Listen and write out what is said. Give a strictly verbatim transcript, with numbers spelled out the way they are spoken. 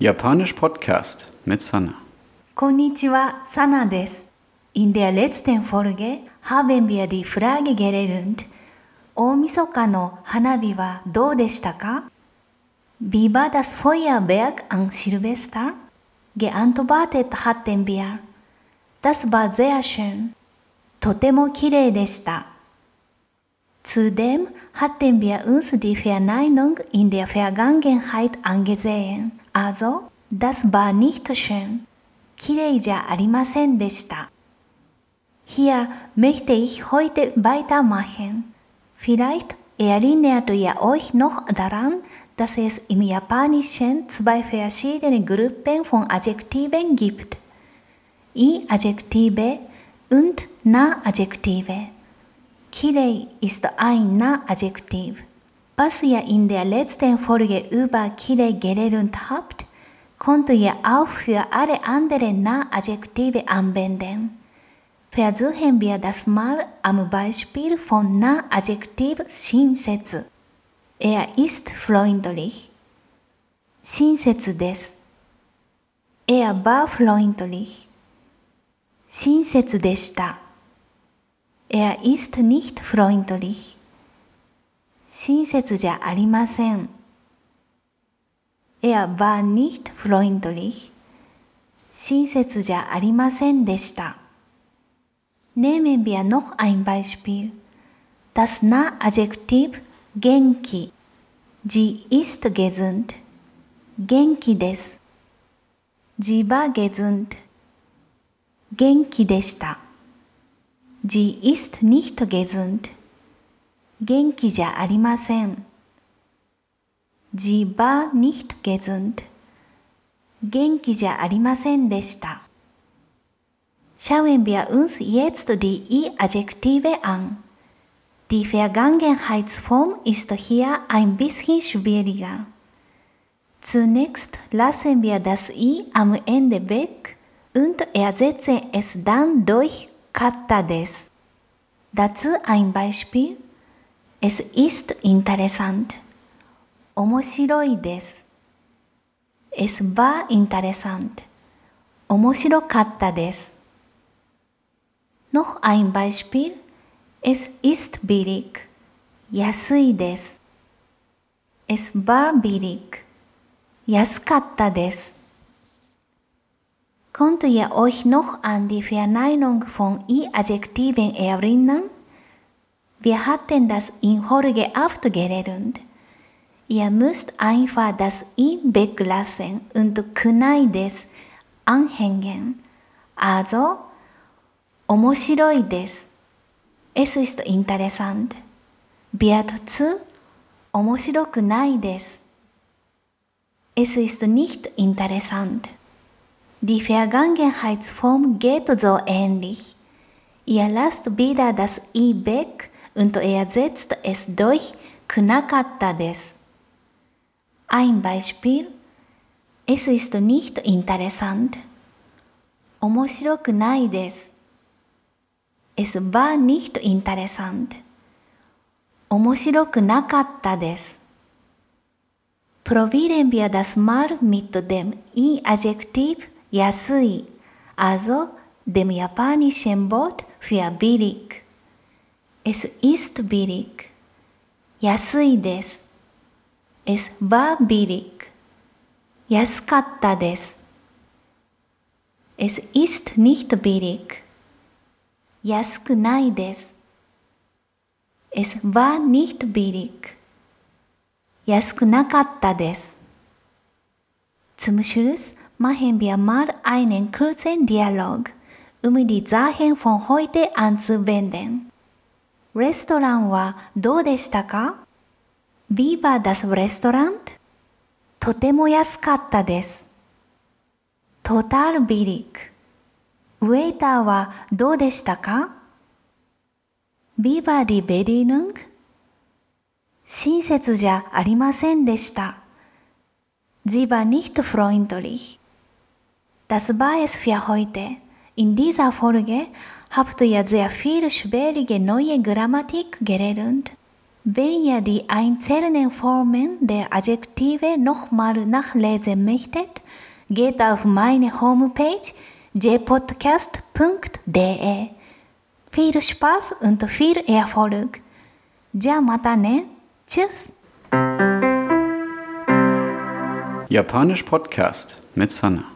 Japanisch Podcast mit Sana. こんにちは、サナです。In der letzten Folge haben wir die Frage gelernt, 大晦日の花火はどうでしたか? Wie war das Feuerwerk an Silvester? Geantwortet hatten wir. Das war sehr schön. とても綺麗でした。Zudem hatten wir uns die Verneinung in der Vergangenheit angesehen. Also, das war nicht schön. 綺麗じゃありませんでした。Hier möchte ich heute weitermachen. Vielleicht erinnert ihr euch noch daran, dass es im Japanischen zwei verschiedene Gruppen von Adjektiven gibt. I-Adjektive und Na-Adjektive. 綺麗 ist ein Na-Adjektiv. Was ihr in der letzten Folge über 綺麗 gelernt habt, könnt ihr auch für alle anderen Na-Adjektive anwenden. Versuchen wir das mal am Beispiel von Na-Adjektiv Shinsetsu. Er ist freundlich. Shinsetsu desu. Er war freundlich. Shinsetsu deshita. Er ist nicht freundlich. 親切じゃありません。Er war nicht freundlich. 親切じゃありませんでした。Nehmen wir noch ein Beispiel. Das Na-Adjektiv 元気。Sie ist gesund. 元気です。Sie war gesund. 元気でした。Sie ist nicht gesund. 元気じゃありません。Sie war nicht gesund. 元気じゃありませんでした。Schauen wir uns jetzt die I-Adjektive an. Die Vergangenheitsform ist hier ein bisschen schwieriger. Zunächst lassen wir das I am Ende weg und ersetzen es dann durch かったです。Dazu ein Beispiel. Es ist interessant. 面白いです。Es war interessant. 面白かったです。Noch ein Beispiel. Es ist billig. 安いです。Es war billig. 安かったです。Könnt ihr euch noch an die Verneinung von I-Adjektiven erinnern? Wir hatten das in Folge acht gelernt. Ihr müsst einfach das I weglassen und くないです anhängen. Also, 面白いです。Es ist interessant. Wird zu 面白くないです。Es ist nicht interessant. Die Vergangenheitsform geht so ähnlich. Ihr lasst wieder das I weg und ersetzt es durch くなかったです。Ein Beispiel. Es ist nicht interessant. 面白くないです。Es war nicht interessant. 面白くなかったです。Probieren wir das mal mit dem I-Adjektiv 安い、also dem japanischen Wort für billig. Es ist billig. 安いです。Es war billig. 安かったです。Es ist nicht billig. 安くないです。Es war nicht billig. 安くなかったです。Zum Schluss machen wir mal einen kurzen Dialog, um die Sachen von heute anzuwenden. レストランはどうでしたか? Wie war das Restaurant? とても安かったです。Total billig. ウェイターはどうでしたか? Wie war die Bedienung? 親切じゃありませんでした。Sie war nicht freundlich. Das war es für heute. In dieser Folge habt ihr sehr viel schwierige neue Grammatik gelernt. Wenn ihr die einzelnen Formen der Adjektive nochmal nachlesen möchtet, geht auf meine Homepage j podcast punkt d e. Viel Spaß und viel Erfolg. じゃあまたね。Tschüss. Japanisch Podcast mit Sanna.